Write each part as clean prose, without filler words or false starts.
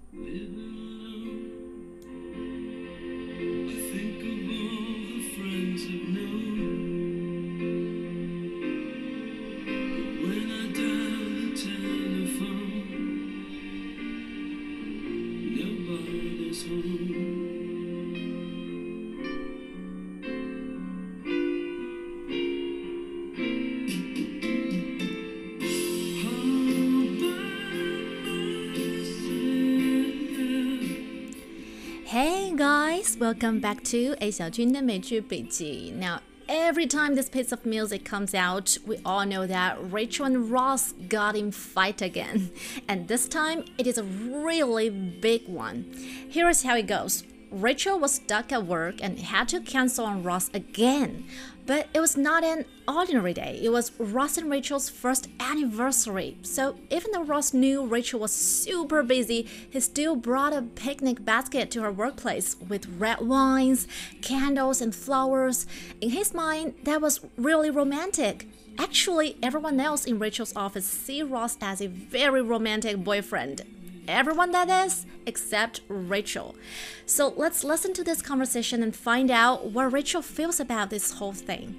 Hey guys, welcome back to A 小军的美剧笔记. Now, every time this piece of music comes out, we all know that Rachel and Ross got in fight again. And this time, it is a really big one. Here is how it goes. Rachel was stuck at work and had to cancel on Ross again. But it was not an ordinary day. It was Ross and Rachel's first anniversary. So even though Ross knew Rachel was super busy, he still brought a picnic basket to her workplace with red wines, candles, and flowers. In his mind, that was really romantic. Actually, everyone else in Rachel's office see Ross as a very romantic boyfriend. Everyone, that is, except Rachel. So let's listen to this conversation and find out what Rachel feels about this whole thing.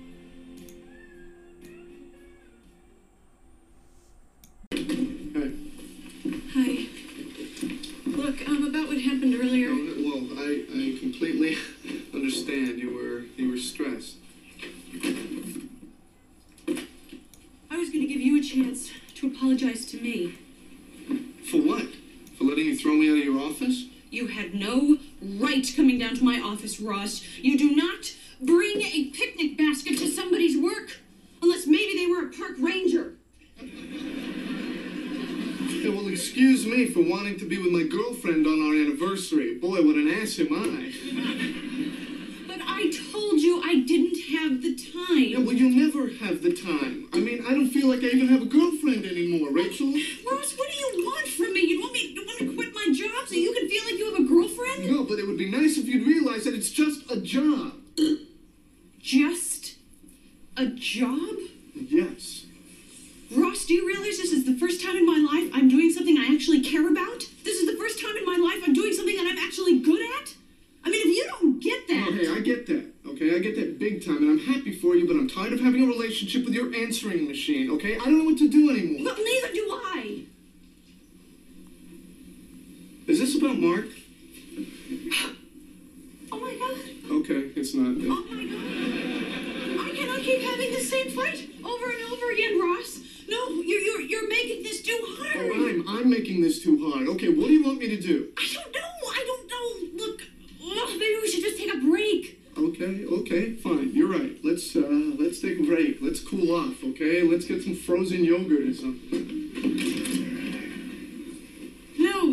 Hi. Look, about what happened earlier. Well, I completely understand. You were stressed. I was going to give you a chance to apologize to me. For what? For letting you throw me out of your office? You had no right coming down to my office, Ross. You do not bring a picnic basket to somebody's work. Unless maybe they were a park ranger. Yeah, well, excuse me for wanting to be with my girlfriend on our anniversary. Boy, what an ass am I. But I told you I didn't have the time. Yeah, well, you'll never have the time. I mean, I don't feel like I even have a girlfriend anymore, Rachel. Ross, what do you want from me? You want to quit my job so you can feel like you have a girlfriend? No, but it would be nice if you'd realize that it's just a job. Just a job? Yes. Ross, do you realize this is the first time in my life I'm doing something I actually care about? This is the first time in my life I'm doing something that I'm actually good at? I mean, if you don't get that... Oh, hey, I get that, okay? I get that big time, and I'm happy for you, but I'm tired of having a relationship with your answering machine, okay? I don't know what to do anymore. Well, neither do I. Is this about Mark? Oh, my God. Okay, it's not. Oh, my God. I cannot keep having the same fight over and over again, Ross. No, you're making this too hard. Oh, I'm making this too hard. Okay, what do you want me to do? I don't know. Look, maybe we should just take a break. Okay, fine. You're right. Let's take a break. Let's cool off, okay? Let's get some frozen yogurt or something. No.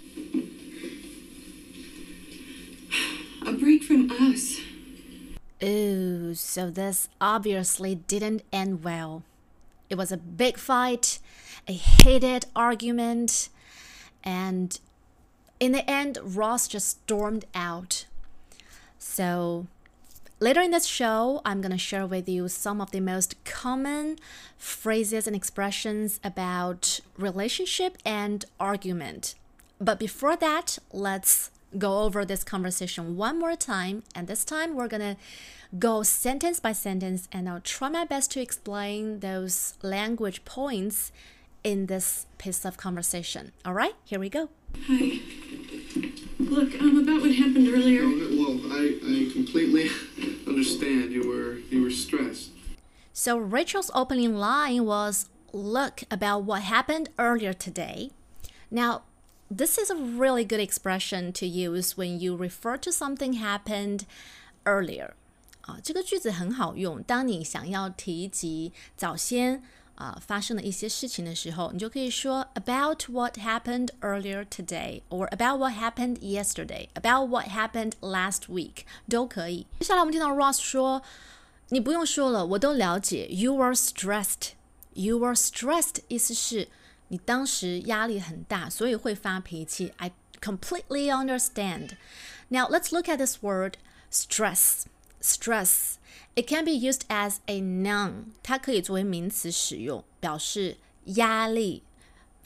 A break from us. Ooh, so this obviously didn't end well. It was a big fight, a heated argument, and in the end, Ross just stormed out. So later in this show, I'm going to share with you some of the most common phrases and expressions about relationship and argument. But before that, let's go over this conversation one more time. And this time, we're going to go sentence by sentence, and I'll try my best to explain those language points in this piece of conversation. All right, here we go. Hi. Look, about what happened earlier. Well, I completely understand. You were stressed. So Rachel's opening line was, "Look, about what happened earlier today." Now, this is a really good expression to use when you refer to something happened earlier. 这个句子很好用，当你想要提及早先发生的一些事情的时候，你就可以说 about what happened earlier today or about what happened yesterday, about what happened last week 都可以。接下来我们听到 Ross 说，你不用说了，我都了解 you were stressed. You were stressed 意思是你当时压力很大，所以会发脾气。I completely understand. Now let's look at this word stress. Stress. It can be used as a noun. 它可以作为名词使用，表示压力、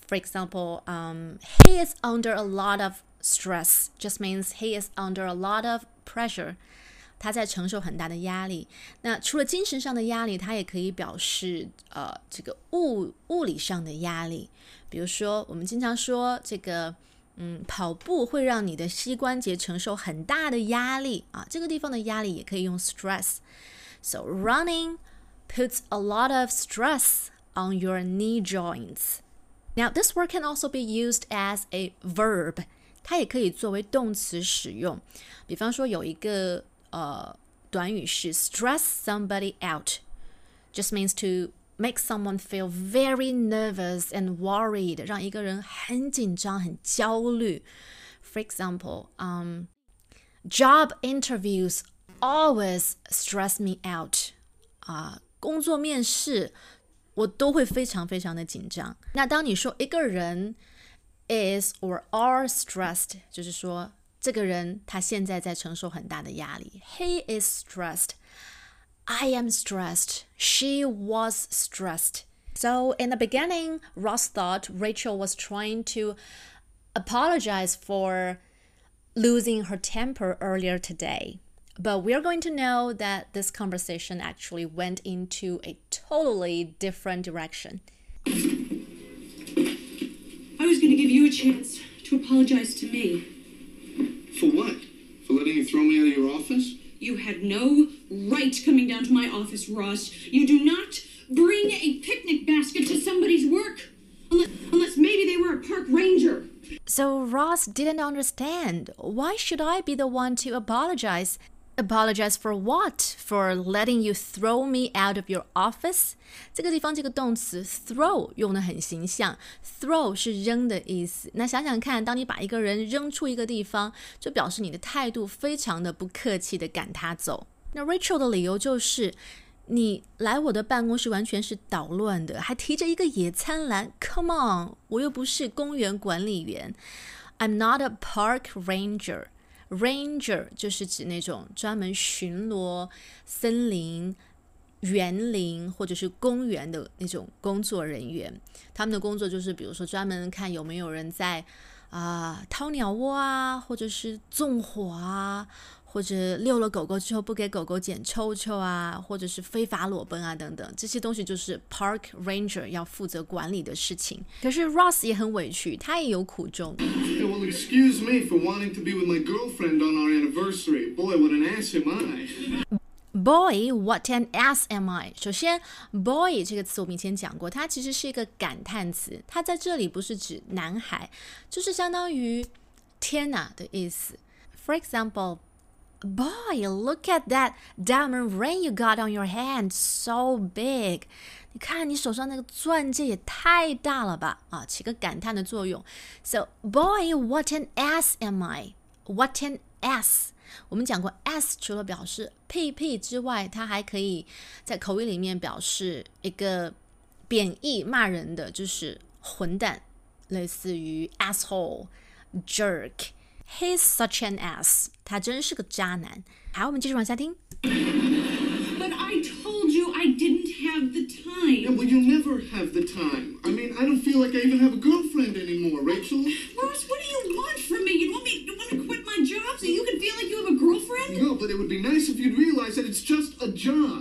For example, he is under a lot of stress just means he is under a lot of pressure. 他在承受很大的压力。那除了精神上的压力，它也可以表示这个物理上的压力。比如说，我们经常说这个跑步会让你的膝关节承受很大的压力啊，这个地方的压力也可以用 stress. So running puts a lot of stress on your knee joints. Now, this word can also be used as a verb. 它也可以作为动词使用。比方说有一个短语是 stress somebody out. Just means to make someone feel very nervous and worried. 让一个人很紧张很焦虑。For example, job interviews always stress me out. 工作面试我都会非常非常的紧张。那当你说一个人 is or are stressed, 就是说这个人他现在在承受很大的压力。He is stressed. I am stressed. She was stressed. So in the beginning, Ross thought Rachel was trying to apologize for losing her temper earlier today. But we're going to know that this conversation actually went into a totally different direction. I was going to give you a chance to apologize to me. For what? For letting you throw me out of your office? You had no right coming down to my office, Ross. You do not bring a picnic basket to somebody's work. Unless maybe they were a park ranger. So Ross didn't understand. Why should I be the one to apologize? Apologize for what? For letting you throw me out of your office? 这个地方这个动词 throw 用得很形象。throw 是扔的意思。那想想看，当你把一个人扔出一个地方，就表示你的态度非常的不客气的赶他走。那 Rachel 的理由就是，你来我的办公室完全是捣乱的，还提着一个野餐篮。Come on， 我又不是公园管理员。I'm not a park ranger.Ranger 就是指那种专门巡逻森林、园林或者是公园的那种工作人员。他们的工作就是比如说专门看有没有人在掏鸟窝啊，或者是纵火啊，或者遛了狗狗之后不给狗狗剪臭臭啊，或者是非法裸奔啊等等，这些东西就是 Park Ranger 要负责管理的事情。可是 Ross 也很委屈，他也有苦衷。 Hey, well, excuse me for wanting to be with my girlfriend on our anniversary. Boy, what an ass am I. Boy, what an ass am I. 首先 boy 这个词我们以前讲过，它其实是一个感叹词，它在这里不是指男孩，就是相当于天哪的意思。For example, boy, look at that diamond ring you got on your hand, so big. 你看你手上那个钻戒也太大了吧，起个感叹的作用。So, boy, what an ass am I. What an ass. 我们讲过 ass 除了表示屁屁之外，它还可以在口语里面表示一个贬义骂人的，就是混蛋，类似于 asshole, jerk.He's such an ass. 他真是个渣男。好，我们继续往下听。 But I told you I didn't have the time. Yeah, well, you never have the time. I mean, I don't feel like I even have a girlfriend anymore, Rachel. Ross, what do you want from me? You want to quit my job so you can feel like you have a girlfriend? No, but it would be nice if you'd realize that it's just a job.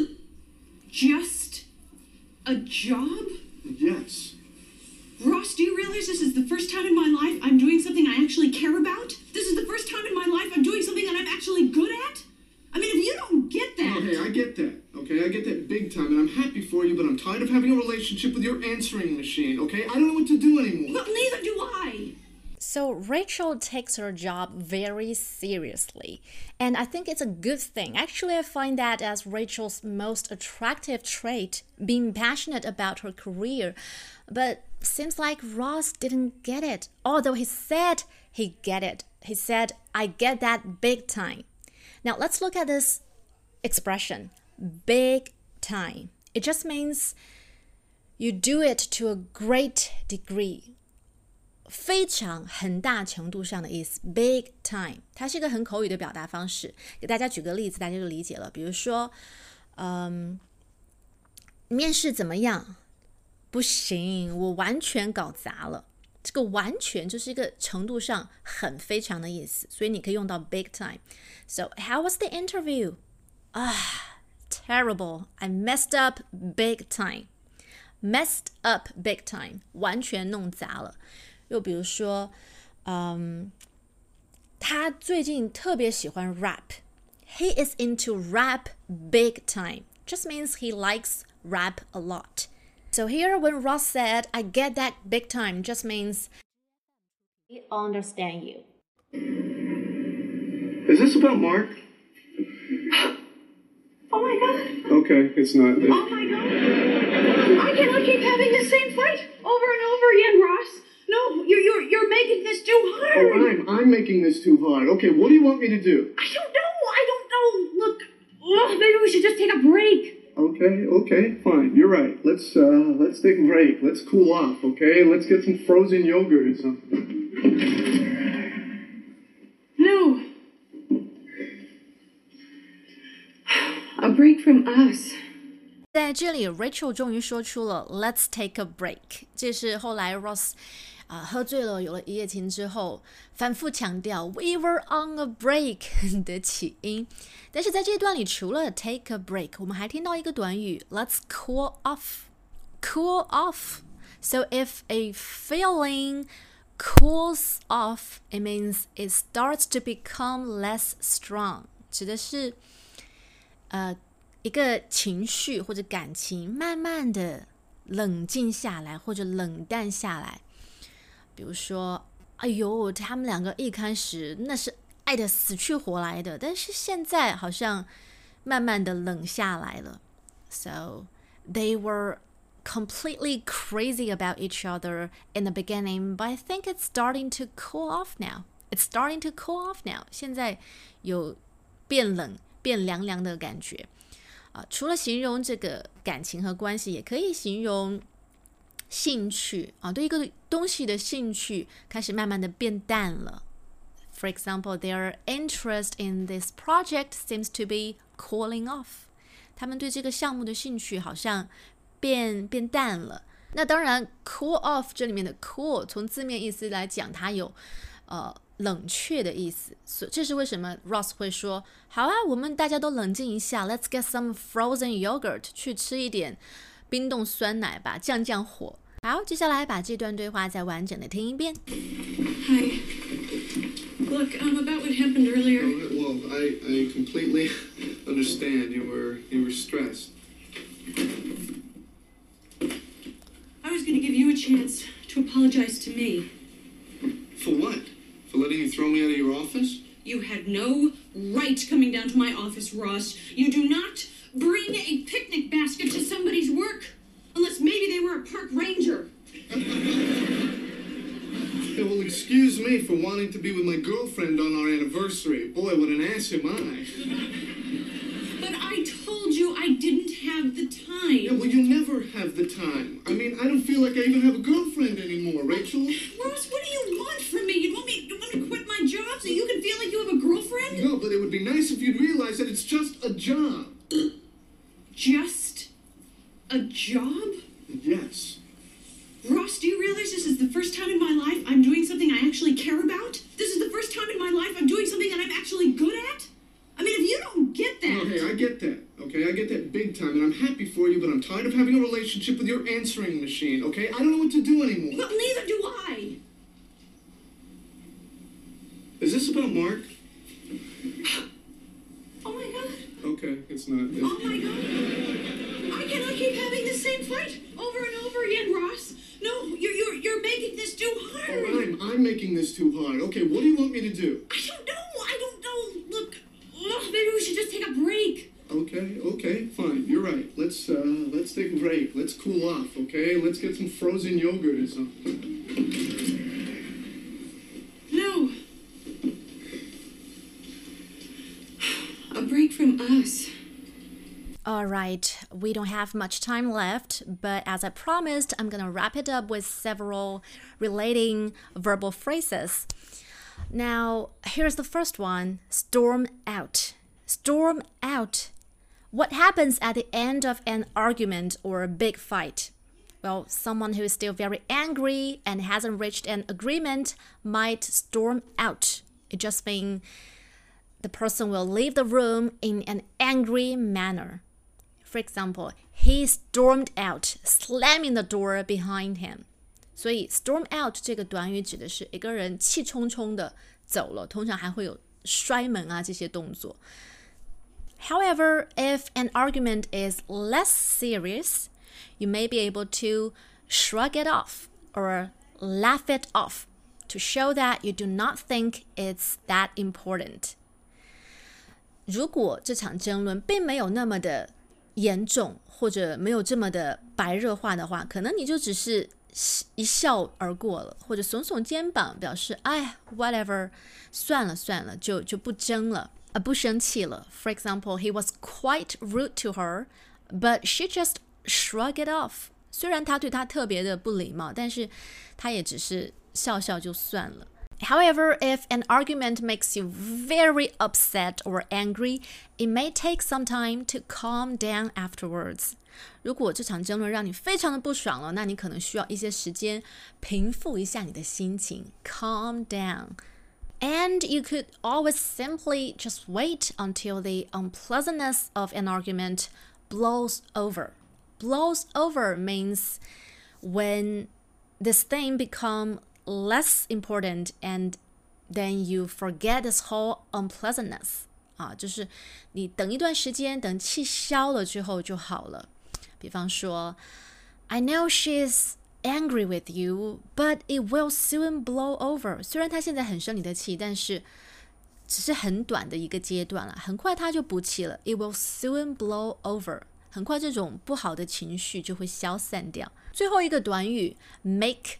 Just a job? Yes. Ross, do you realize this is the first time in my life I'm doing something I actually care about? This is the first time in my life I'm doing something that I'm actually good at? I mean, if you don't get that... Oh, hey, I get that, okay? I get that big time, and I'm happy for you, but I'm tired of having a relationship with your answering machine, okay? I don't know what to do anymore. Well, neither do I. So Rachel takes her job very seriously, and I think it's a good thing. Actually, I find that as Rachel's most attractive trait, being passionate about her career. But seems like Ross didn't get it, although he said he get it. He said, I get that big time. Now let's look at this expression, big time. It just means you do it to a great degree. 非常很大程度上的意思 big time 它是一个很口语的表达方式，给大家举个例子大家就理解了。比如说面试怎么样？ 不行，我完全搞砸了。这个完全就是一个程度上很非常的意思，所以你可以用到 big time. So how was the interview? Terrible. I messed up big time. Messed up big time. 完全弄砸了。又比如说，他最近特别喜欢 rap. He is into rap big time. Just means he likes rap a lot. So here when Ross said, I get that big time, just means I understand you. Is this about Mark? Oh my god. Okay, it's not. Oh my god. I cannot keep having the same fight over and over again, Ross. No, you're making this too hard. Oh, I'm making this too hard. Okay, what do you want me to do? I don't know. Look, maybe we should just take a break. Okay, fine. You're right. Let's take a break. Let's cool off, okay? Let's get some frozen yogurt or something. No. A break from us. 在这里 Rachel 终于说出了 Let's take a break. 这是后来 Ross 喝醉了有了一夜情之后反复强调 We were on a break 的起因。但是在这段里除了 take a break 我们还听到一个短语 Let's cool off. Cool off. So if a feeling cools off, it means it starts to become less strong. 指的是一个情绪或者感情慢慢的冷静下来或者冷淡下来。比如说，哎呦，他们两个一开始那是爱得死去活来的，但是现在好像慢慢的冷下来了。So they were completely crazy about each other in the beginning, but I think it's starting to cool off now. It's starting to cool off now. 现在有变冷、变凉凉的感觉。除了形容这个感情和关系，也可以形容兴趣对一个东西的兴趣开始慢慢的变淡了。For example, their interest in this project seems to be cooling off. 他们对这个项目的兴趣好像变淡了。那当然 cool off 这里面的 cool 从字面意思来讲它有冷却的意思，这是为什么 Ross 会说好啊，我们大家都冷静一下 Let's get some frozen yogurt 去吃一点冰冻酸奶吧，降降火。好，接下来把这段对话再完整的听一遍。 Hi. Look, about what happened earlier. Well, I completely understand. You were stressed. I was going to give you a chance to apologize to me. For what? For letting you throw me out of your office? You had no right coming down to my office, Ross. You do not bring a picnic basket to somebody's work. Unless maybe they were a park ranger. Yeah, well, excuse me for wanting to be with my girlfriend on our anniversary. Boy, what an ass am I. But I told you I didn't have the time. Yeah, well, you never have the time. I mean, I don't feel like I even have a girlfriend anymore, Rachel. Ross, what do you want from me? You want to quit my job so you can feel like you have a girlfriend? No, but it would be nice if you'd realize that it's just a job. Just a job? Yes. Ross, do you realize this is the first time in my life I'm doing something I actually care about? This is the first time in my life I'm doing something that I'm actually good at? I mean, if you don't get that... Oh, hey, I get that, okay? I get that big time, and I'm happy for you, but I'm tired of having a relationship with your answering machine, okay? I don't know what to do anymore. Well, neither do I. Is this about Mark? Oh my god. Okay, it's not. Oh my god. I cannot keep having the same fight over and over again, Ross. No, you're making this too hard. Oh, I'm making this too hard. Okay, what do you want me to do? I don't know. Look, maybe we should just take a break. Okay, fine. You're right. Let's take a break. Let's cool off, okay? Let's get some frozen yogurt or something. No. A break from us. All right, we don't have much time left, but as I promised, I'm gonna wrap it up with several relating verbal phrases. Now, here's the first one, storm out. Storm out. What happens at the end of an argument or a big fight? Well, someone who is still very angry and hasn't reached an agreement might storm out. It just means the person will leave the room in an angry manner. For example, he stormed out, slamming the door behind him. 所以 storm out 这个短语指的是一个人气冲冲的走了，通常还会有摔门啊这些动作。However, if an argument is less serious, you may be able to shrug it off or laugh it off to show that you do not think it's that important. 如果这场争论并没有那么的严重，或者没有这么的白热化的话，可能你就只是一笑而过了，或者耸耸肩膀表示哎 whatever 算了算了，就不争了，不生气了。For example, he was quite rude to her, but she just shrugged it off. 虽然他对她特别的不礼貌，但是他也只是笑笑就算了。However, if an argument makes you very upset or angry, it may take some time to calm down afterwards. 如果这场争论让你非常的不爽了，那你可能需要一些时间平复一下你的心情 calm down. And you could always simply just wait until the unpleasantness of an argument blows over. Blows over means when this thing becomes less important and then you forget this whole unpleasantness. 就是你等一段时间，等气消了之后就好了。比方说 I know she's angry with you, but it will soon blow over. 虽然她现在很生你的气，但是只是很短的一个阶段了，很快她就不气了。It will soon blow over. 很快这种不好的情绪就会消散掉。最后一个短语 make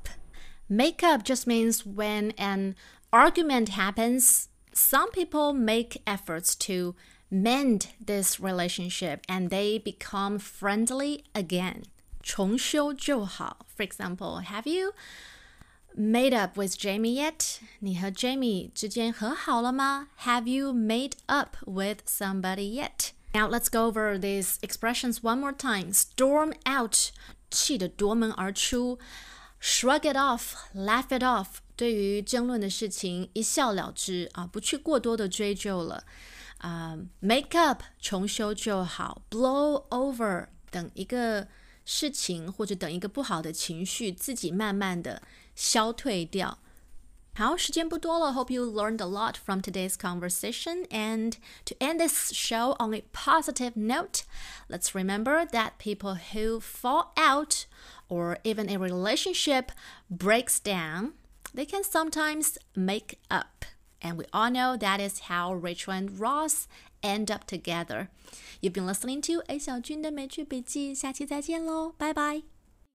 up。Make up just means when an argument happens, some people make efforts to mend this relationship and they become friendly again. 重修旧好。For example, have you made up with Jamie yet? 你和 Jamie 之间和好了吗？ Have you made up with somebody yet? Now let's go over these expressions one more time. Storm out, 气得夺门而出。Shrug it off, laugh it off. 对于争论的事情一笑了之不去过多的追究了。Make up 重修旧好。Blow over 等一个事情或者等一个不好的情绪自己慢慢的消退掉。好，时间不多了。Hope you learned a lot from today's conversation. And to end this show on a positive note, let's remember that people who fall out or even a relationship breaks down, they can sometimes make up. And we all know that is how Rachel and Ross end up together. You've been listening to A 小军的美剧笔记，下期再见喽，拜拜。